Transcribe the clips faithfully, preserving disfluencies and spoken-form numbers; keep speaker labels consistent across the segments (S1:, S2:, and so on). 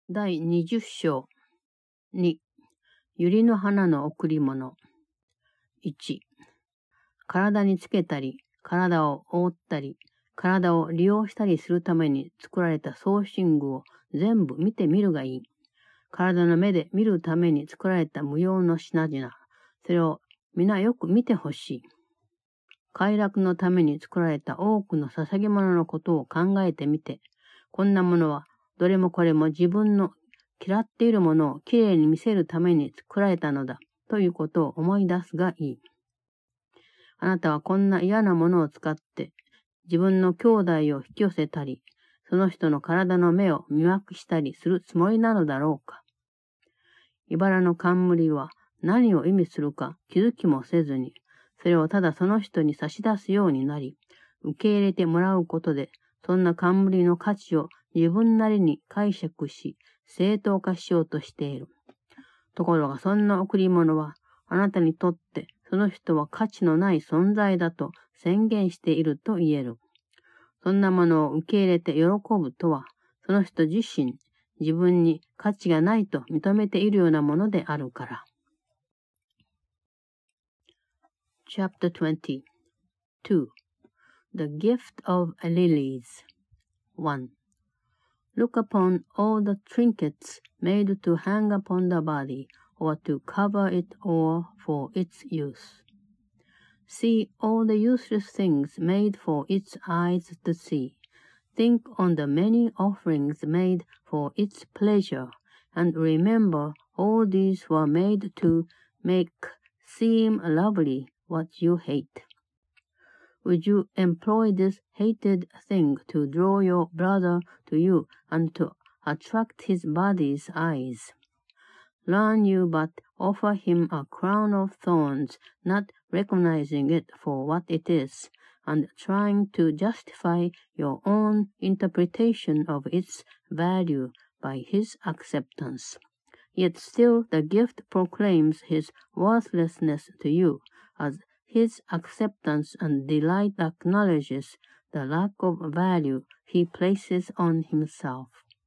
S1: だいにじゅっ章に、百合の花の贈り物。いち、体につけたり、体を覆ったり、体を利用したりするために作られた装身具を全部見てみるがいい。体の目で見るために作られた無用の品々、それを皆よく見てほしい。快楽のために作られた多くの捧げ物のことを考えてみて、こんなものはどれもこれも自分の嫌っているものをきれいに見せるために作られたのだということを思い出すがいい。あなたはこんな嫌なものを使って自分の兄弟を引き寄せたり、その人の体の目を魅惑したりするつもりなのだろうか。茨の冠は何を意味するか気づきもせずに、それをただその人に差し出すようになり、受け入れてもらうことで、そんな冠の価値を自分なりに解釈し、正当化しようとしている。ところがそんな贈り物は、あなたにとってその人は価値のない存在だと宣言していると言える。そんなものを受け入れて喜ぶとは、その人自身、自分に価値がないと認めているようなものであるから。Chapter twenty-two. The Gift of Lilies. one. Look upon all the trinkets made to hang upon the body, or to cover it or for its use. See all the useless things made for its eyes to see. Think on the many offerings made for its pleasure, and remember all these were made to make seem lovely what you hate. Would you employ this hated thing to draw your brother to you and to attract his body's eyes? Learn you but offer him a crown of thorns, not recognizing it for what it is, and trying to justify your own interpretation of its value by his acceptance. Yet still the gift proclaims his worthlessness to you, as his acceptance and delight acknowledges the lack of value he places on himself.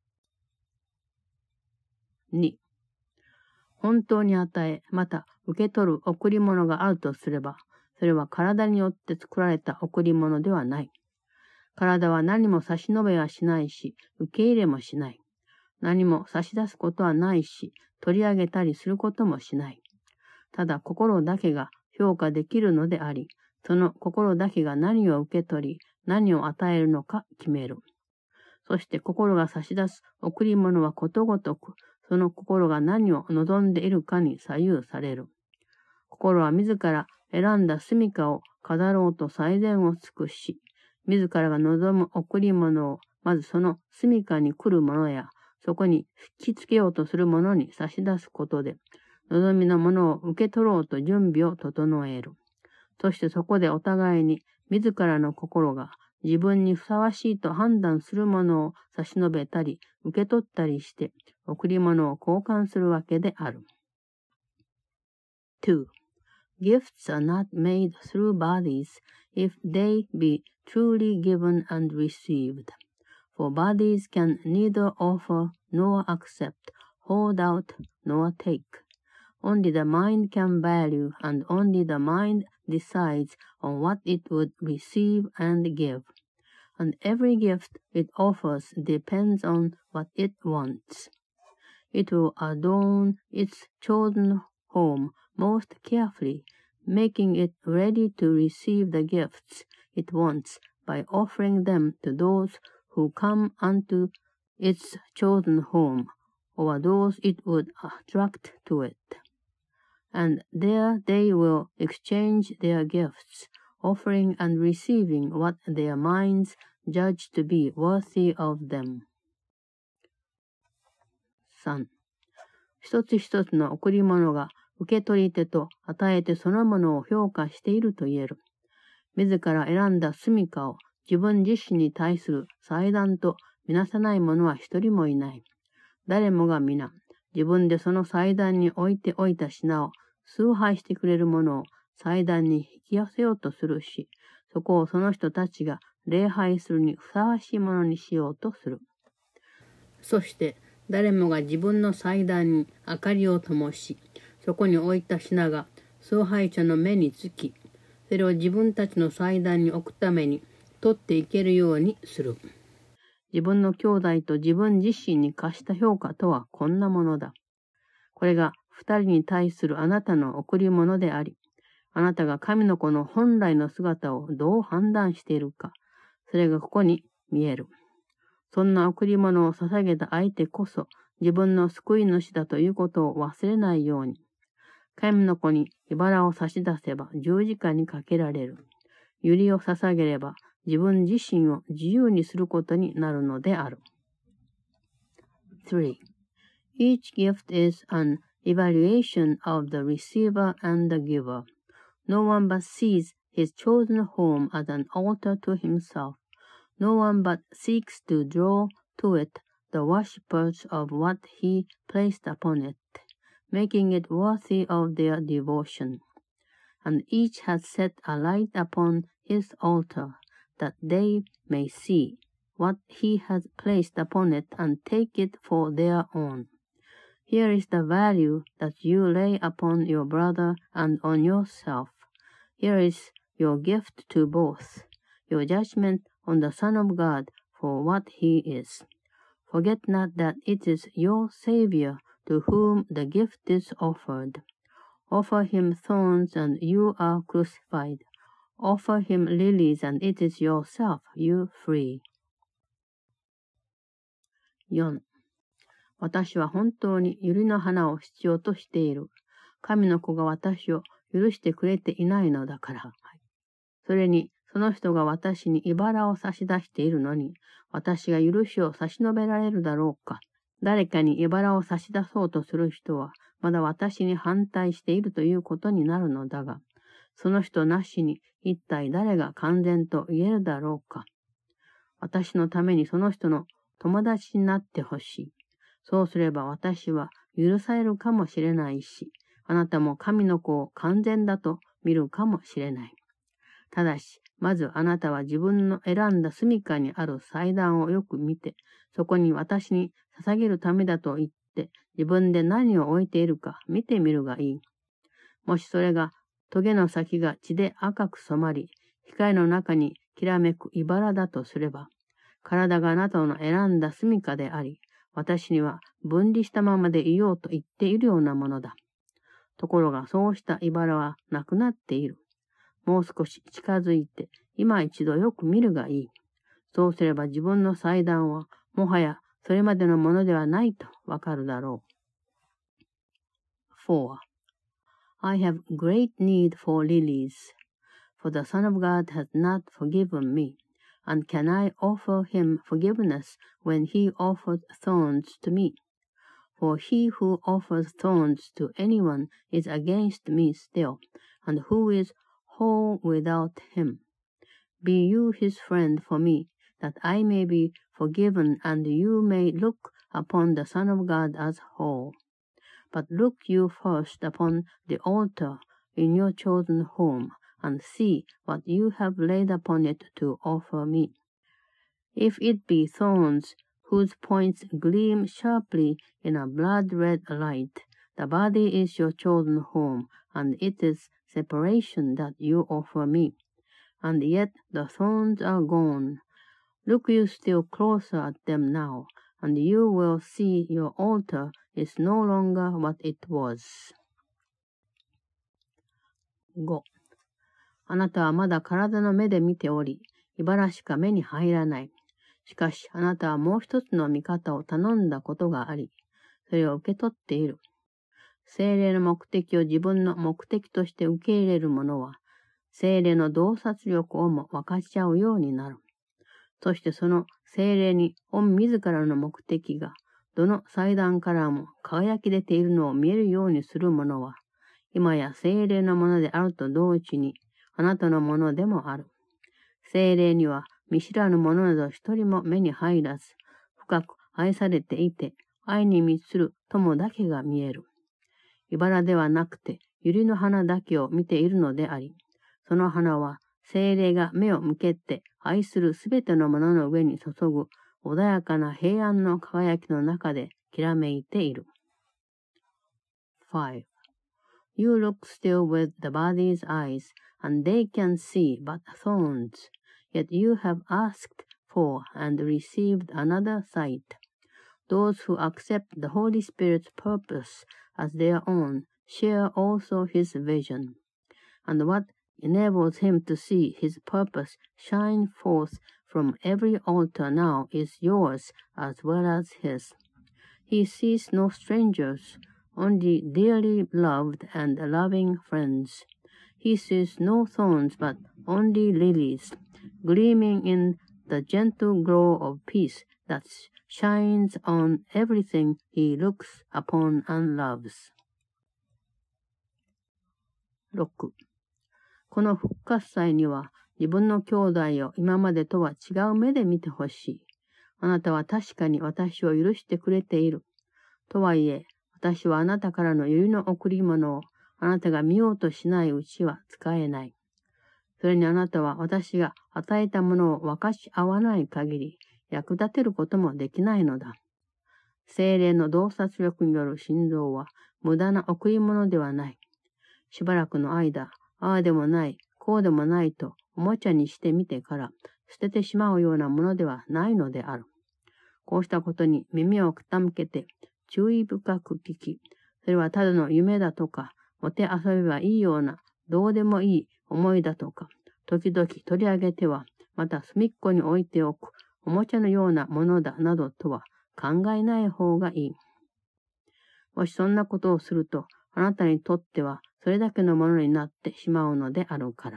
S1: に. 本当に与え、また受け取る贈り物があるとすれば、それは体によって作られた贈り物ではない。体は何も差し伸べはしないし、受け入れもしない。何も差し出すことはないし、取り上げたりすることもしない。ただ心だけが評価できるのであり、その心だけが何を受け取り、何を与えるのか決める。そして心が差し出す贈り物はことごとく、その心が何を望んでいるかに左右される。心は自ら選んだ住処を飾ろうと最善を尽くし、自らが望む贈り物をまずその住処に来るものや、そこに引きつけようとするものに差し出すことで、望みのものを受け取ろうと準備を整える。そしてそこでお互いに自らの心が自分にふさわしいと判断するものを差し伸べたり受け取ったりして贈り物を交換するわけである。two. Gifts are not made through bodies if they be truly given and received. For bodies can neither offer nor accept, hold out nor take.Only the mind can value, and only the mind decides on what it would receive and give. And every gift it offers depends on what it wants. It will adorn its chosen home most carefully, making it ready to receive the gifts it wants by offering them to those who come unto its chosen home, or those it would attract to it.And there they will exchange their gifts, offering and receiving what their minds judge to be worthy of them. さん. 一つ一つの贈り物が受け取り手と与え手そのものを評価していると言える。自ら選んだ住処を自分自身に対する祭壇とみなさない者は一人もいない。誰もが皆、自分でその祭壇に置いておいた品を崇拝してくれるものを祭壇に引き寄せようとするし、そこをその人たちが礼拝するにふさわしいものにしようとする。そして、 誰もが自分の祭壇に明かりを灯し、そこに置いた品が崇拝者の目につき、それを自分たちの祭壇に置くために取っていけるようにする。自分の兄弟と自分自身に課した評価とはこんなものだ。これが二人に対するあなたの贈り物であり、あなたが神の子の本来の姿をどう判断しているか、それがここに見える。そんな贈り物を捧げた相手こそ自分の救い主だということを忘れないように。神の子に茨を差し出せば十字架にかけられる。百合を捧げれば自分自身を自由にすることになるのである。three. Each gift is an evaluation of the receiver and the giver. No one but sees his chosen home as an altar to himself. No one but seeks to draw to it the worshippers of what he placed upon it, making it worthy of their devotion. And each has set a light upon his altar, that they may see what he has placed upon it and take it for their own. Here is the value that you lay upon your brother and on yourself. Here is your gift to both, your judgment on the Son of God for what he is. Forget not that it is your Savior to whom the gift is offered. Offer him thorns and you are crucified. Offer him lilies and it is yourself you free. よん. 私は本当に百合の花を必要としている。神の子が私を許してくれていないのだから。それに、その人が私に茨を差し出しているのに、私が許しを差し伸べられるだろうか。誰かに茨を差し出そうとする人は、まだ私に反対しているということになるのだが、その人なしに一体誰が完全と言えるだろうか。私のためにその人の友達になってほしい。そうすれば私は許されるかもしれないし、あなたも神の子を完全だと見るかもしれない。ただし、まずあなたは自分の選んだ住処にある祭壇をよく見て、そこに私に捧げるためだと言って、自分で何を置いているか見てみるがいい。もしそれが、棘の先が血で赤く染まり、光の中にきらめく茨だとすれば、体があなたの選んだ住処であり、私には分離したままでいようと言っているようなものだ。ところがそうした茨はなくなっている。もう少し近づいて、今一度よく見るがいい。そうすれば自分の祭壇は、もはやそれまでのものではないとわかるだろう。four. I have great need for lilies, for the Son of God has not forgiven me, and can I offer him forgiveness when he offers thorns to me? For he who offers thorns to anyone is against me still, and who is whole without him. Be you his friend for me, that I may be forgiven, and you may look upon the Son of God as whole. But look you first upon the altar in your chosen home, and see what you have laid upon it to offer me. If it be thorns whose points gleam sharply in a blood-red light, the body is your chosen home, and it is separation that you offer me. And yet the thorns are gone. Look you still closer at them now, and you will see your altar is no longer what it was. ご. あなたはまだ体の目で見ており、茨しか目に入らない。しかしあなたはもう一つの見方を頼んだことがあり、それを受け取っている。聖霊の目的を自分の目的として受け入れる者は、聖霊の洞察力をも分かち合うようになる。そしてその聖霊に御自らの目的が、どの祭壇からも輝き出ているのを見えるようにする者は、今や聖霊のものであると同時に、あなたのものでもある。聖霊には見知らぬ者など一人も目に入らず、深く愛されていて、愛に満ちる友だけが見える。茨ではなくて、百合の花だけを見ているのであり、その花は聖霊が目を向けて愛するすべてのものの上に注ぐ穏やかな平安の輝きの中できらめいている。five. You look still with the body's eyes, and they can see but thorns. Yet you have asked for and received another sight. Those who accept the Holy Spirit's purpose as their own share also his vision. And what enables him to see his purpose shine forth from every altar now is yours as well as his. He sees no strangers, only dearly loved and loving friends. He sees no thorns but only lilies, gleaming in the gentle glow of peace that shines on everything he looks upon and loves. ろく. この復活祭には自分の兄弟を今までとは違う目で見てほしい。あなたは確かに私を許してくれている。とはいえ、私はあなたからの百合の贈り物をあなたが見ようとしないうちは使えない。それにあなたは私が与えたものを分かち合わない限り役立てることもできないのだ。精霊の洞察力による心臓は無駄な贈り物ではない。しばらくの間、ああでもない、こうでもないとおもちゃにしてみてから捨ててしまうようなものではないのである。こうしたことに耳を傾けて注意深く聞き、それはただの夢だとか、もて遊べばいいようなどうでもいい思いだとか、時々取り上げては、また隅っこに置いておくおもちゃのようなものだなどとは考えない方がいい。もしそんなことをすると、あなたにとってはそれだけのものになってしまうのであるから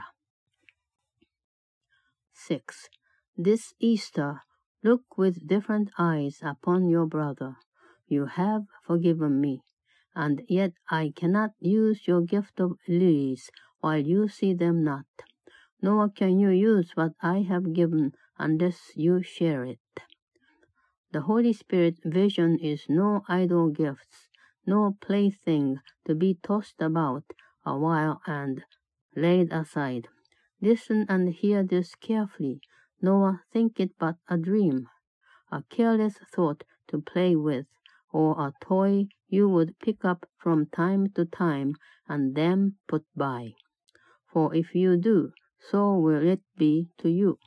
S1: 。six. This Easter, look with different eyes upon your brother. You have forgiven me, and yet I cannot use your gift of lilies while you see them not. Nor can you use what I have given unless you share it. The Holy Spirit's vision is no idle gifts, no plaything to be tossed about a while and laid aside. Listen and hear this carefully, nor think it but a dream, a careless thought to play with, or a toy you would pick up from time to time and then put by. For if you do, so will it be to you.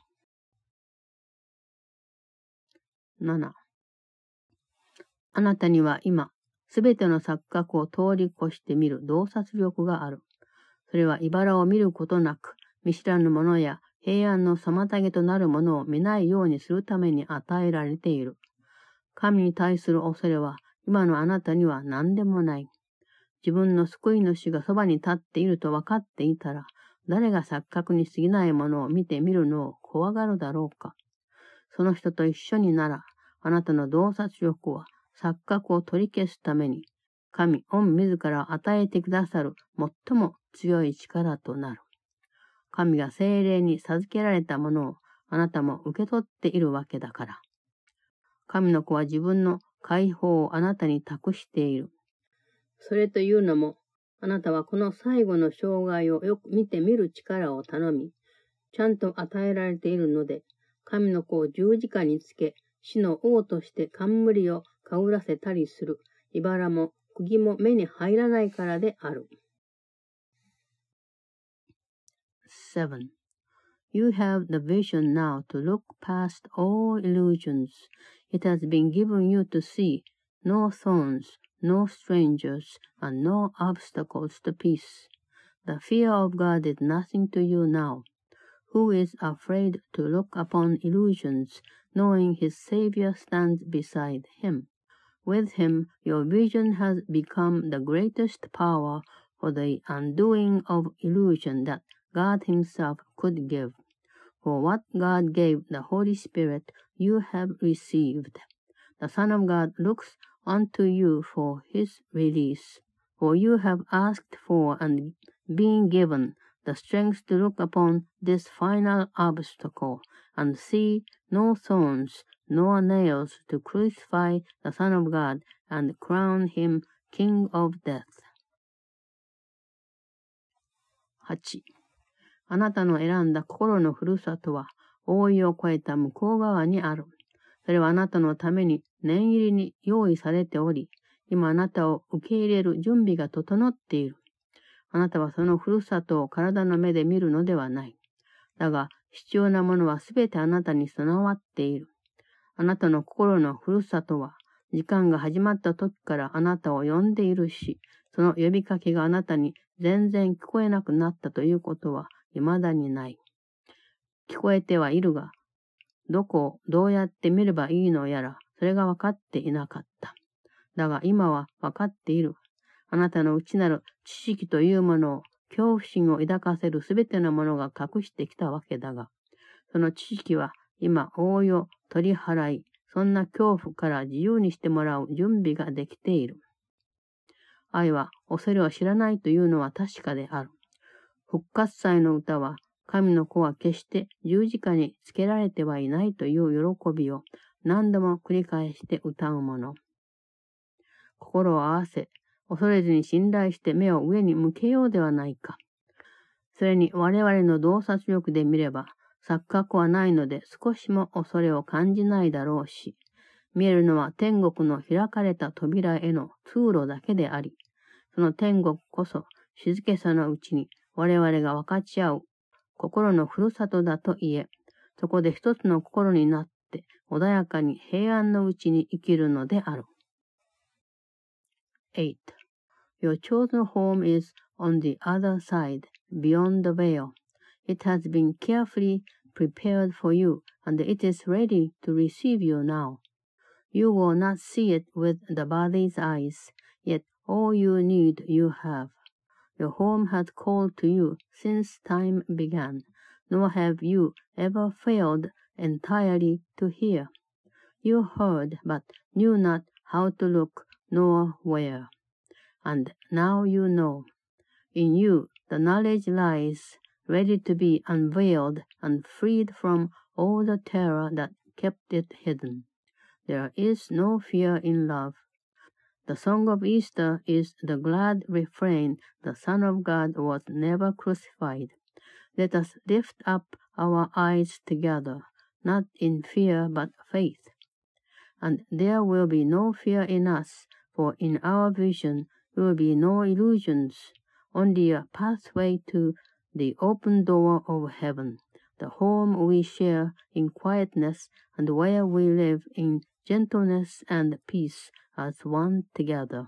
S1: なな. あなたには今、すべての錯覚を通り越して見る洞察力がある。それは茨を見ることなく、見知らぬものや平安の妨げとなるものを見ないようにするために与えられている。神に対する恐れは今のあなたには何でもない。自分の救い主がそばに立っていると分かっていたら、誰が錯覚に過ぎないものを見てみるのを怖がるだろうか。その人と一緒になら、あなたの洞察力は錯覚を取り消すために、神御自ら与えてくださる最も強い力となる。神が聖霊に授けられたものをあなたも受け取っているわけだから。神の子は自分の解放をあなたに託している。それというのも、あなたはこの最後の障害をよく見てみる力を頼み、ちゃんと与えられているので、神の子を十字架につけ、死の王として冠をかぶらせたりする、茨も釘も目に入らないからである。seven. You have the vision now to look past all illusions. It has been given you to see no thorns, no strangers, and no obstacles to peace. The fear of God is nothing to you now. Who is afraid to look upon illusions, knowing his Savior stands beside him? With him, your vision has become the greatest power for the undoing of illusion that God himself could give. For what God gave the Holy Spirit you have received. The Son of God looks unto you for his release. For you have asked for and been given the strength to look upon this final obstacle and see no thorns nor nails to crucify the Son of God and crown him King of Death. はち. あなたの選んだ心のふるさとは、覆いを越えた向こう側にある。 それはあなたのために念入りに用意されており、今あなたを受け入れる準備が整っている。あなたはそのふるさとを体の目で見るのではない。だが、必要なものはすべてあなたに備わっている。あなたの心のふるさとは、時間が始まった時からあなたを呼んでいるし、その呼びかけがあなたに全然聞こえなくなったということは未だにない。聞こえてはいるが、どこをどうやって見ればいいのやら、それが分かっていなかった。だが今は分かっている。あなたの内なる知識というものを、恐怖心を抱かせるすべてのものが隠してきたわけだが、その知識は今、応用、取り払い、そんな恐怖から自由にしてもらう準備ができている。愛は恐れを知らないというのは確かである。復活祭の歌は、神の子は決して十字架につけられてはいないという喜びを何度も繰り返して歌うもの。心を合わせ、恐れずに信頼して目を上に向けようではないか。それに我々の洞察力で見れば、錯覚はないので少しも恐れを感じないだろうし、見えるのは天国の開かれた扉への通路だけであり、その天国こそ静けさのうちに我々が分かち合う心のふるさとだと言え、そこで一つの心になって穏やかに平安のうちに生きるのである。eight. Your chosen home is on the other side, beyond the veil. It has been carefully prepared for you, and it is ready to receive you now. You will not see it with the body's eyes, yet all you need you have. Your home has called to you since time began, nor have you ever failed entirely to hear. You heard, but knew not how to look nor where. And now you know. In you the knowledge lies, ready to be unveiled and freed from all the terror that kept it hidden. There is no fear in love. The song of Easter is the glad refrain, the Son of God was never crucified. Let us lift up our eyes together, not in fear but faith. And there will be no fear in us, for in our vision will be no illusions, only a pathway to the open door of heaven, the home we share in quietness and where we live in gentleness and peace as one together.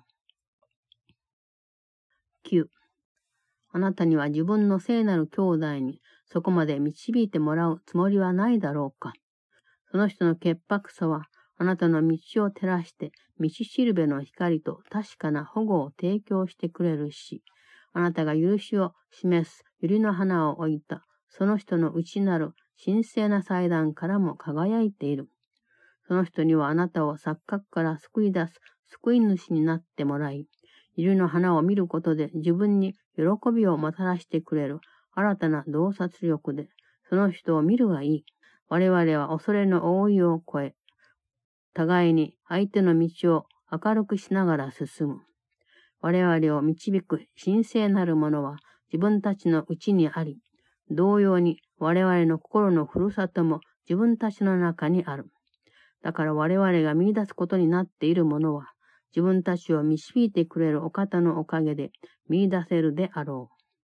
S1: きゅう. あなたには自分の聖なる兄弟にそこまで導いてもらうつもりはないだろうか。その人の潔白さはあなたの道を照らして道しるべの光と確かな保護を提供してくれるし、あなたが許しを示す百合の花を置いたその人の内なる神聖な祭壇からも輝いている。その人にはあなたを錯覚から救い出す救い主になってもらい、百合の花を見ることで自分に喜びをもたらしてくれる新たな洞察力で、その人を見るがいい。我々は恐れの覆いを越え、互いに相手の道を明るくしながら進む。我々を導く神聖なるものは自分たちの内にあり、同様に我々の心のふるさとも自分たちの中にある。だから我々が見出すことになっているものは、自分たちを導いてくれるお方のおかげで見出せるであろ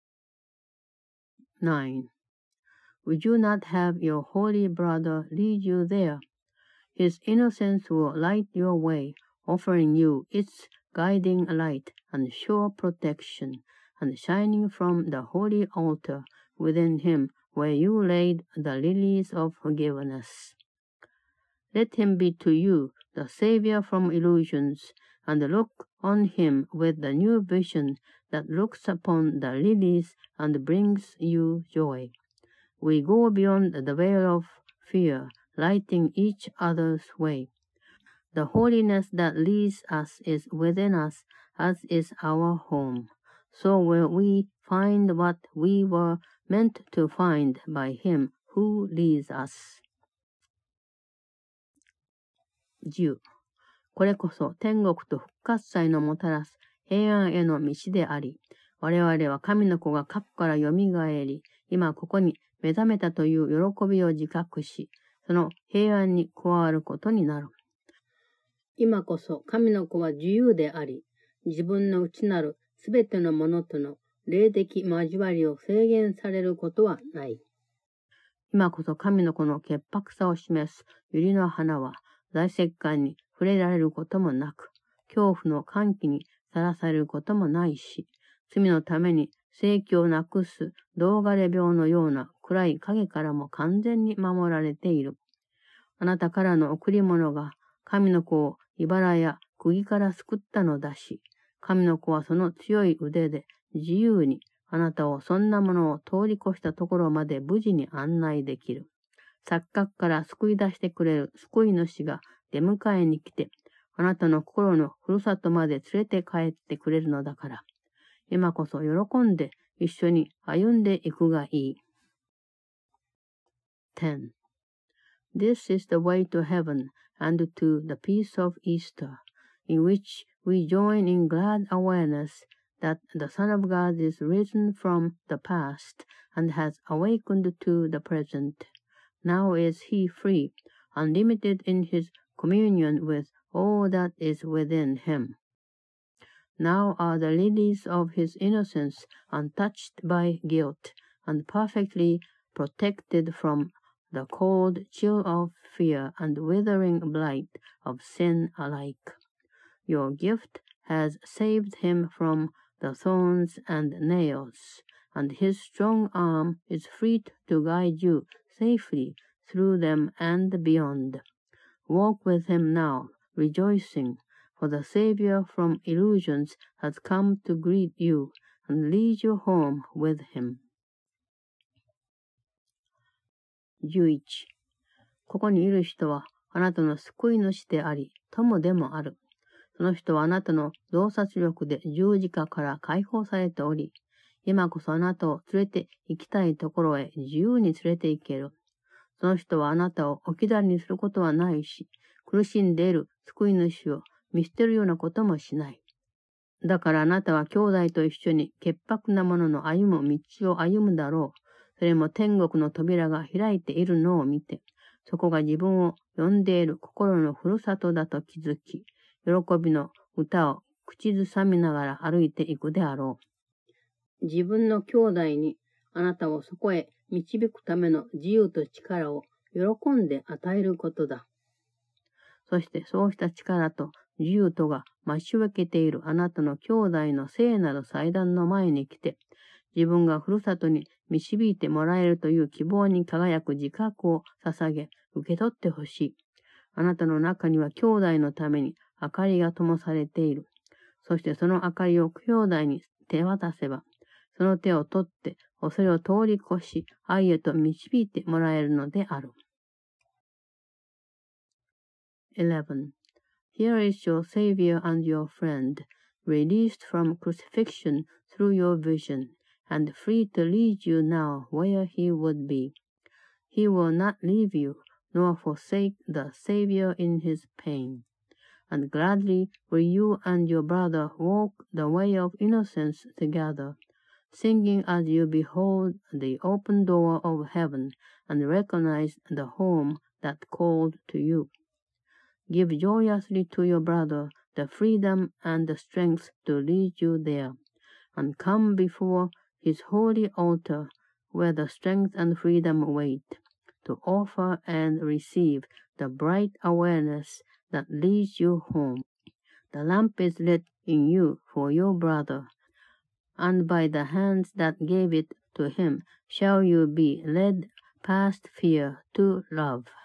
S1: う。nine. Would you not have your holy brother lead you there? His innocence will light your way, offering you its guiding light and sure protection, and shining from the holy altar within him where you laid the lilies of forgiveness. Let him be to you the Savior from illusions, and look on him with the new vision that looks upon the lilies and brings you joy. We go beyond the veil of fear, lighting each other's way. The holiness that leads us is within us, as is our home. So will we find what we were meant to find by him who leads us. じゅう. これこそ天国と復活祭のもたらす平安への道であり、我々は神の子が過去からよみがえり、今ここに目覚めたという喜びを自覚し、 その平安に加わることになる。今こそ神の子は自由であり、自分の内なるすべてのものとの霊的交わりを制限されることはない。今こそ神の子の潔白さを示す百合の花は、大石棺に触れられることもなく、恐怖の歓喜にさらされることもないし、罪のために生気をなくす銅枯れ病のような暗い影からも完全に守られている。あなたからの贈り物が神の子を茨や釘から救ったのだし、神の子はその強い腕で自由にあなたをそんなものを通り越したところまで無事に案内できる。錯覚から救い出してくれる救い主が出迎えに来て、あなたの心のふるさとまで連れて帰ってくれるのだから、今こそ喜んで一緒に歩んでいくがいい。ten. This is the way to heaven and to the peace of Easter, in which we join in glad awareness that the Son of God is risen from the past and has awakened to the present. Now is he free, unlimited in his communion with all that is within him. Now are the lilies of his innocence untouched by guilt, and perfectly protected from the cold chill of fear and withering blight of sin alike. Your gift has saved him from the thorns and nails, and his strong arm is free to guide you safely through them and beyond. Walk with him now, rejoicing, for the Savior from illusions has come to greet you and lead you home with him. じゅういち. ここにいる人はあなたの救い主であり、友でもある。その人はあなたの洞察力で十字架から解放されており、今こそあなたを連れて行きたいところへ自由に連れて行ける。その人はあなたを置き去りにすることはないし、苦しんでいる救い主を見捨てるようなこともしない。だからあなたは兄弟と一緒に潔白な者の歩む道を歩むだろう。それも天国の扉が開いているのを見て、そこが自分を呼んでいる心のふるさとだと気づき、喜びの歌を口ずさみながら歩いていくであろう。自分の兄弟にあなたをそこへ導くための自由と力を喜んで与えることだ。そしてそうした力と自由とが待ち受けているあなたの兄弟の聖なる祭壇の前に来て、自分がふるさとに導いてもらえるという希望に輝く自覚を捧げ、受け取ってほしい。あなたの中には兄弟のために明かりが灯されている。そしてその明かりを兄弟に手渡せば、その手を取って恐れを通り越し、愛へと導いてもらえるのである。eleven. Here is your Savior and your friend, released from crucifixion through your vision, and free to lead you now where he would be. He will not leave you, nor forsake the Savior in his pain. And gladly will you and your brother walk the way of innocence together, singing as you behold the open door of heaven and recognize the home that called to you. Give joyously to your brother the freedom and the strength to lead you there, and come before his holy altar, where the strength and freedom wait, to offer and receive the bright awareness that leads you home. The lamp is lit in you for your brother, and by the hands that gave it to him shall you be led past fear to love.